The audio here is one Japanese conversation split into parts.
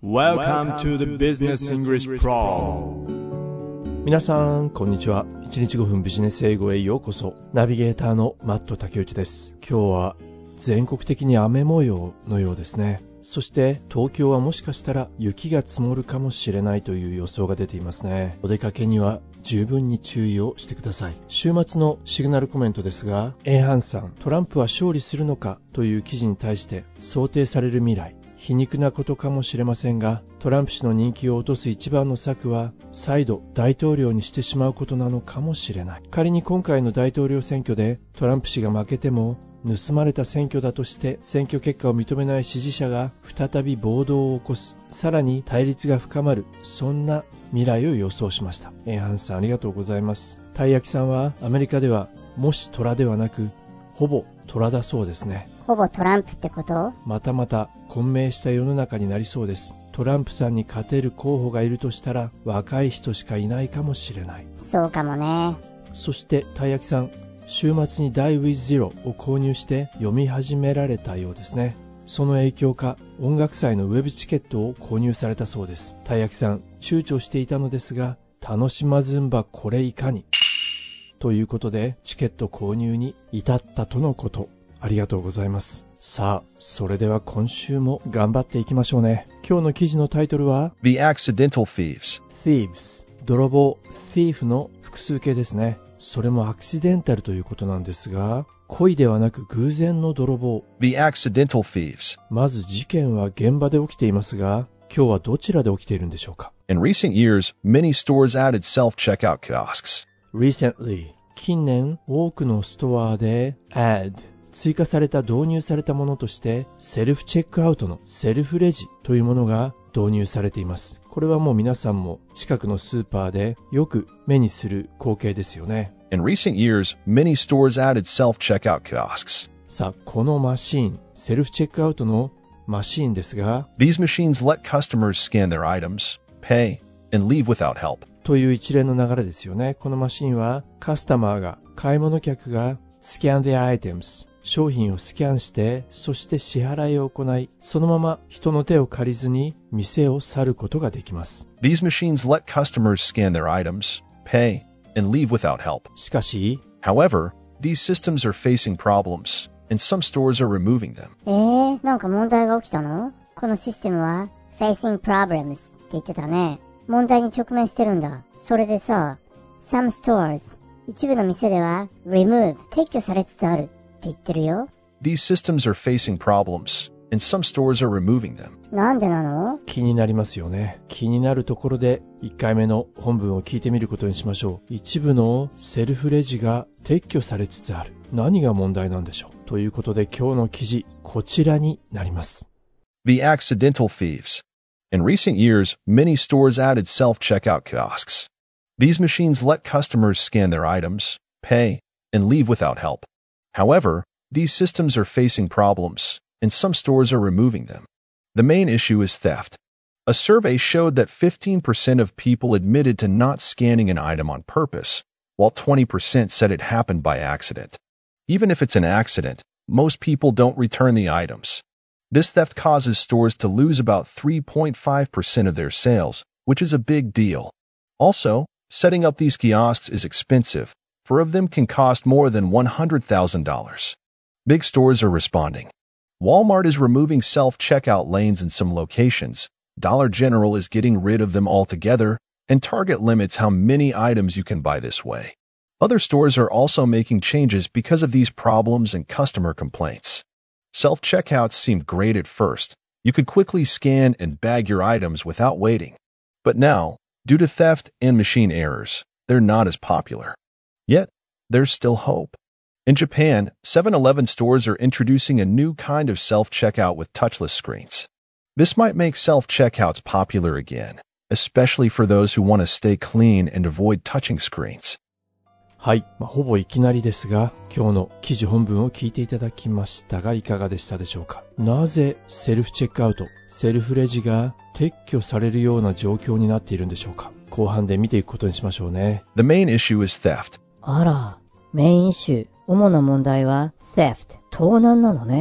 Welcome to the Business English Pro。 皆さんこんにちは。1日5分ビジネス英語へようこそ。ナビゲーターのマット竹内です。今日は全国的に雨模様のようですね。そして東京はもしかしたら雪が積もるかもしれないという予想が出ていますね。お出かけには十分に注意をしてください。週末のシグナルコメントですが、エイハンさん、トランプは勝利するのかという記事に対して想定される未来、皮肉なことかもしれませんが、トランプ氏の人気を落とす一番の策は再度大統領にしてしまうことなのかもしれない。仮に今回の大統領選挙でトランプ氏が負けても、盗まれた選挙だとして選挙結果を認めない支持者が再び暴動を起こす、さらに対立が深まる、そんな未来を予想しました。エイハンさんありがとうございます。たい焼きさんはアメリカではもし虎ではなくほぼ虎だそうですね。 ほぼトランプってこと？ またまた混迷した世の中になりそうです。トランプさんに勝てる候補がいるとしたら若い人しかいないかもしれない。 そうかもね。 そしてたい焼きさん、週末に Die with Zero を購入して読み始められたようですね。その影響か音楽祭のウェブチケットを購入されたそうです。たい焼きさん、躊躇していたのですが、楽しまずんばこれいかにということでチケット購入に至ったとのこと。ありがとうございます。さあ、それでは今週も頑張っていきましょうね。今日の記事のタイトルは The Accidental Thieves。 泥棒 thief の複数形ですね。それもアクシデンタルということなんですが、故意ではなく偶然の泥棒。 The Accidental Thieves。 まず事件は現場で起きていますが、今日はどちらで起きているんでしょうか。 In recent years, many stores added self-checkout kiosks. Recently、 近年多くのストアで add、追加された導入されたものとしてセルフチェックアウトのセルフレジというものが導入されています。これはもう皆さんも近くのスーパーでよく目にする光景ですよね。 In recent years, many stores added self-checkout kiosks. さあ、このマシーン、セルフチェックアウトのマシーンですが、 These machines let customers scan their items, pay, and leave without help. という一連の流れですよね。このマシーンはカスタマーが、買い物客が scan their items、商品をスキャンして、そして支払いを行い、そのまま人の手を借りずに店を去ることができます。 These machines let customers scan their items, pay, and leave without help. しかし、 However, these systems are facing problems, and some stores are removing them. なんか問題が起きたの？このシステムは facing problems って言ってたね。問題に直面してるんだ。それでさ、some stores、一部の店では remove、撤去されつつあるって言ってるよ。 These systems are facing problems, and some stores are removing them. なんでなの？ 気になりますよね。気になるところで1回目の本文を聞いてみることにしましょう。一部のセルフレジが撤去されつつある。何が問題なんでしょう。ということで今日の記事、こちらになります。 The Accidental Thieves. In recent years, many stores added self-checkout kiosks. These machines let customers scan their items, pay, and leave without help. However, these systems are facing problems, and some stores are removing them. The main issue is theft. A survey showed that 15% of people admitted to not scanning an item on purpose, while 20% said it happened by accident. Even if it's an accident, most people don't return the items. This theft causes stores to lose about 3.5% of their sales, which is a big deal. Also, setting up these kiosks is expensive. 4 of them can cost more than $100,000. Big stores are responding. Walmart is removing self-checkout lanes in some locations. Dollar General is getting rid of them altogether, and Target limits how many items you can buy this way. Other stores are also making changes because of these problems and customer complaints. Self-checkouts seemed great at first. You could quickly scan and bag your items without waiting. But now, due to theft and machine errors, they're not as popular. Yet, there's still hope. In Japan, 7-Eleven stores are introducing a new kind of self-checkout with touchless screens. This might make self-checkouts popular again, especially for those who want to stay clean and avoid touching screens. はい、ほぼいきなりですが、今日の記事本文を聞いていただきましたがいかがでしたでしょうか。なぜセルフチェックアウト、セルフレジが撤去されるような状況になっているんでしょうか。後半で見ていくことにしましょうね。 The main issue is theft. あら、メインイシュー、主な問題は theft、盗難なのね。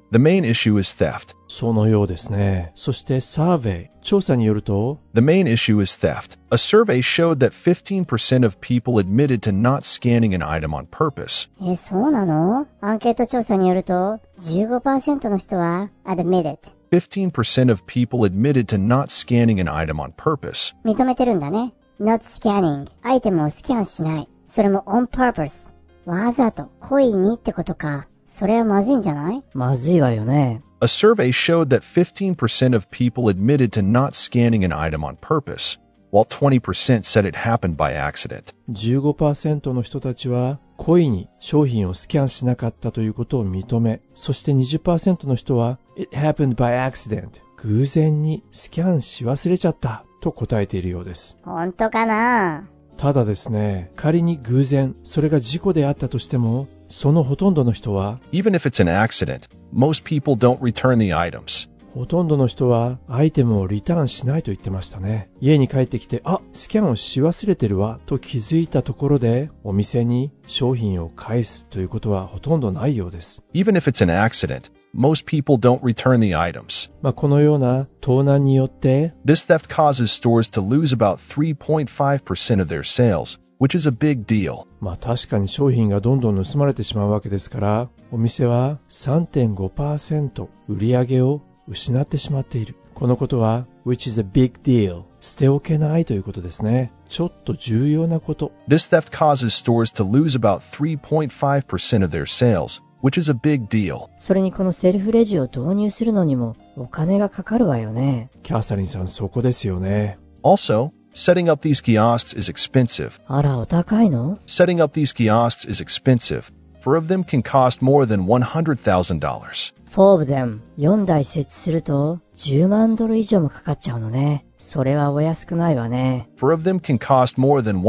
The main issue is theft. そのようですね。そしてサーベイ、調査によると、 The main issue is theft. A survey showed that 15% of people admitted to not scanning an item on purpose. そうなの？アンケート調査によると、15% の人は admitted。 15% of people admitted to not scanning an item on purpose. 認めてるんだね。not scanning。アイテムをスキャンしない。それも on purpose。わざと、故意にってことか。それはまずいんじゃない？ まずいわよね。 A survey showed that 15% of people admitted to not scanning an item on purpose, while 20% said it happened by accident. 15% の人たちは故意に商品をスキャンしなかったということを認め、そして 20% の人は It happened by accident。偶然にスキャンし忘れちゃったと答えているようです。 本当かな？ ただですね、仮に偶然、それが事故であったとしても、そのほとんどの人は、 Even if it's an accident, most people don't return the items. ほとんどの人はアイテムをリターンしないと言ってましたね。家に帰ってきて、スキャンをし忘れてるわと気づいたところで、お店に商品を返すということはほとんどないようです。 Even if it's an accident, most people don't return the items. このような盗難によって、 This theft causes stores to lose about 3.5% of their sales, which is a big deal. 確かに商品がどんどん盗まれてしまうわけですから、お店は 3.5% 売り上げを失ってしまっている。このことは which is a big deal。捨ておけないということですね。ちょっと重要なこと。 This theft causes stores to lose about 3.5% of their sales, which is a big deal. それにこのセルフレジを導入するのにもお金がかかるわよね。 キャサリンさん、そこですよね。 Also, setting up these kiosks is expensive. あら、お高いの？ Setting up these kiosks is expensive. 4 of them can cost more than $100,000. 4 of them 4台設置すると10万ドル以上もかかっちゃうのね。それはお安くないわね。 4 of them can cost more than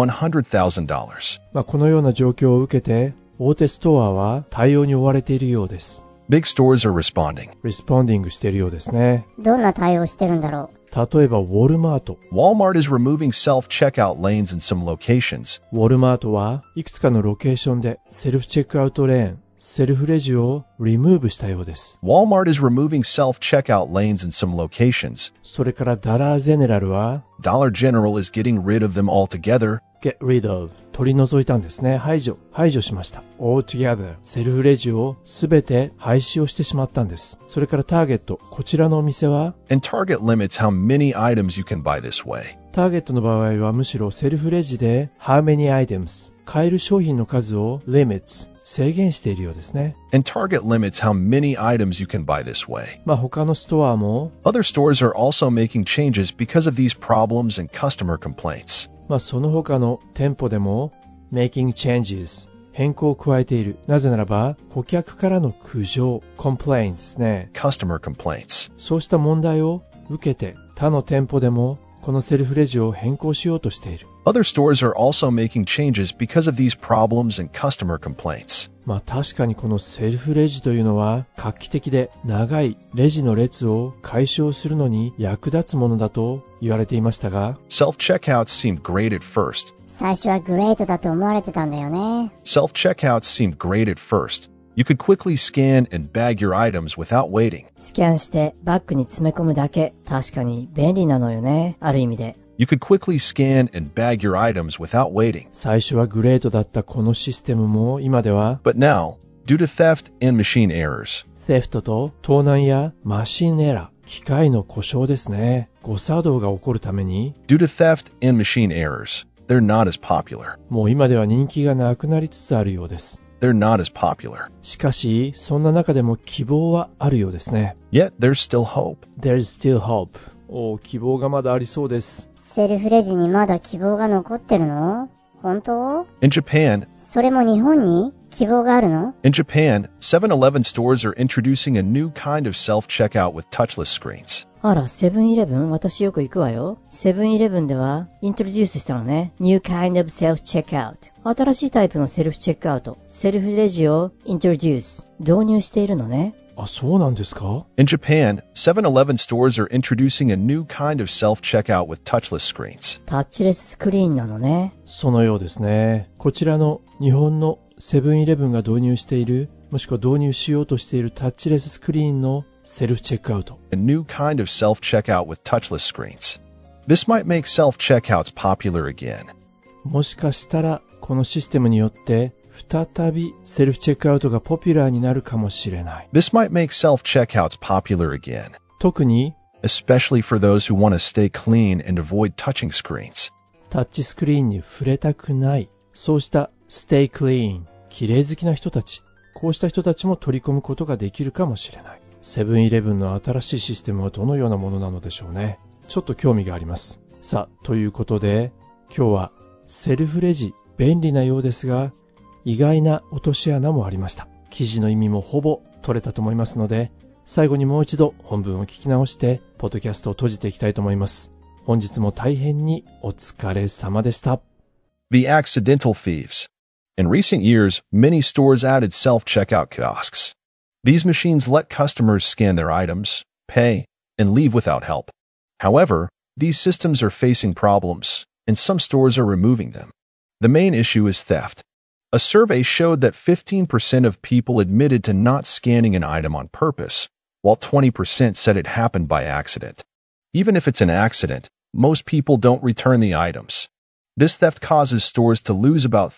$100,000. このような状況を受けて、大手ストアは対応に追われているようです。 Big stores are responding. リスポンディングしているようですね。 どんな対応してるんだろう？ 例えばウォルマート。 Walmart is removing self-checkout lanes in some locations. ウォルマートはいくつかのロケーションでセルフチェックアウトレーン、セルフレジをリムーブしたようです。 Walmart is removing self-checkout lanes in some locations. それからダラーゼネラルは Dollar General is getting rid of them altogether. get rid of 取り除いたんですね。排除しました。altogether セルフレジをすべて廃止をしてしまったんです。それからターゲット、こちらのお店は And Target limits how many items you can buy this way. ターゲットの場合はむしろセルフレジで how many items 買える商品の数を limits 制限しているようですね。 And Target limits how many items you can buy this way. 他のストアも Other stores are also making changes because of these problems and customer complaints. その他の店舗でも making changes 変更を加えている。なぜならば顧客からの苦情 complaints ですね。 Customer complaints. そうした問題を受けて他の店舗でもこのセルフレジを変更しようとしている。 Other stores are also making changes because of these problems and customer complaints. 確かにこのセルフレジというのは画期的で長いレジの列を解消するのに役立つものだと言われていましたが、 Self-checkouts seemed great at first. 最初はグレートだと思われてたんだよね。 Self-checkouts seemed great at first. You could quickly scan and bag your items without waiting. スキャンしてバッグに詰め込むだけ。確かに便利なのよね。ある意味で。 You could quickly scan and bag your items without waiting. 最初はグレートだったこのシステムも今では But now, due to theft and machine errors, セフトと盗難やマシンエラー、機械の故障ですね。誤作動が起こるために due to theft and machine errors, they're not as popular. もう今では人気がなくなりつつあるようです。 They're not as popular. しかし、そんな中でも希望はあるようですね。 Yet, there's still hope. There's still hope. 希望がまだありそうです。 セルフレジにまだ希望が残ってるの？本当？ In Japan, それも日本に希望があるの？ In Japan, 7-Eleven stores are introducing a new kind of self-checkout with touchless screens. あら、セブンイレブン私よく行くわよ。セブンイレブンではイントロデュースしたのね。New kind of self-checkout。新しいタイプのセルフチェックアウト。セルフレジをイントロデュース。導入しているのね。 そうなんですか？ In Japan, 7-Eleven stores are introducing a new kind of self-checkout with touchless screens. タッチレススクリーンなのね。 そのようですね。こちらの日本のセブンイレブンが導入しているもしくは導入しようとしているタッチレススクリーンのセルフチェックアウト。 A new kind of self-checkout with touchless screens. This might make self-checkouts popular again. もしかしたらこのシステムによって再びセルフチェックアウトがポピュラーになるかもしれない。 This might make self-checkouts popular again, 特に especially for those who want to stay clean and avoid touching screens. タッチスクリーンに触れたくない、そうした Stay Clean、綺麗好きな人たち、こうした人たちも取り込むことができるかもしれない。セブンイレブンの新しいシステムはどのようなものなのでしょうね。ちょっと興味があります。さあ、ということで今日はセルフレジ便利なようですが意外な落とし穴もありました。記事の意味もほぼ取れたと思いますので、最後にもう一度本文を聞き直してポッドキャストを閉じていきたいと思います。本日も大変にお疲れ様でした。 The accidental thieves. In recent years, many stores added self-checkout kiosks. These machines let customers scan their items, pay, and leave without help. However, these systems are facing problems, and some stores are removing them. The main issue is theft. A survey showed that 15% of people admitted to not scanning an item on purpose, while 20% said it happened by accident. Even if it's an accident, most people don't return the items. This theft causes stores to lose about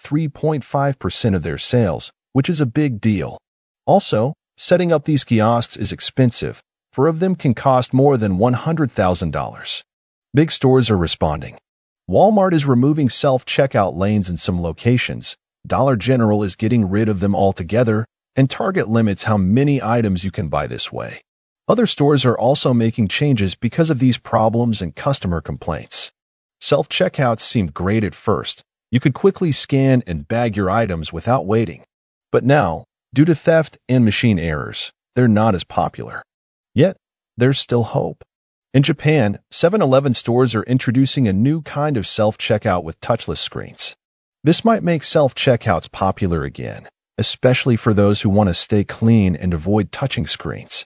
3.5% of their sales, which is a big deal. Also, setting up these kiosks is expensive. 4 of them can cost more than $100,000. Big stores are responding. Walmart is removing self-checkout lanes in some locations. Dollar General is getting rid of them altogether, and Target limits how many items you can buy this way. Other stores are also making changes because of these problems and customer complaints. Self-checkouts seemed great at first. You could quickly scan and bag your items without waiting. But now, due to theft and machine errors, they're not as popular. Yet, there's still hope. In Japan, 7-Eleven stores are introducing a new kind of self-checkout with touchless screens. This might make self-checkouts popular again, especially for those who want to stay clean and avoid touching screens.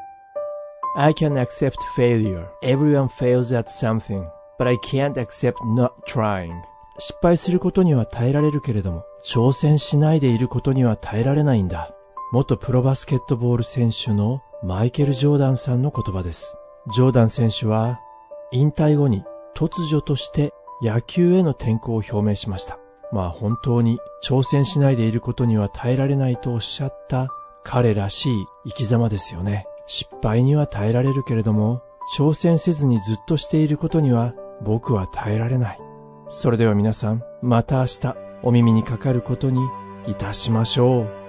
I can accept failure. Everyone fails at something, but I can't accept not trying. 失敗することには耐えられるけれども、挑戦しないでいることには耐えられないんだ。元プロバスケットボール選手のマイケル・ジョーダンさんの言葉です。ジョーダン選手は引退後に突如として野球への転向を表明しました。本当に挑戦しないでいることには耐えられないとおっしゃった彼らしい生き様ですよね。失敗には耐えられるけれども、挑戦せずにずっとしていることには僕は耐えられない。それでは皆さん、また明日お耳にかかることにいたしましょう。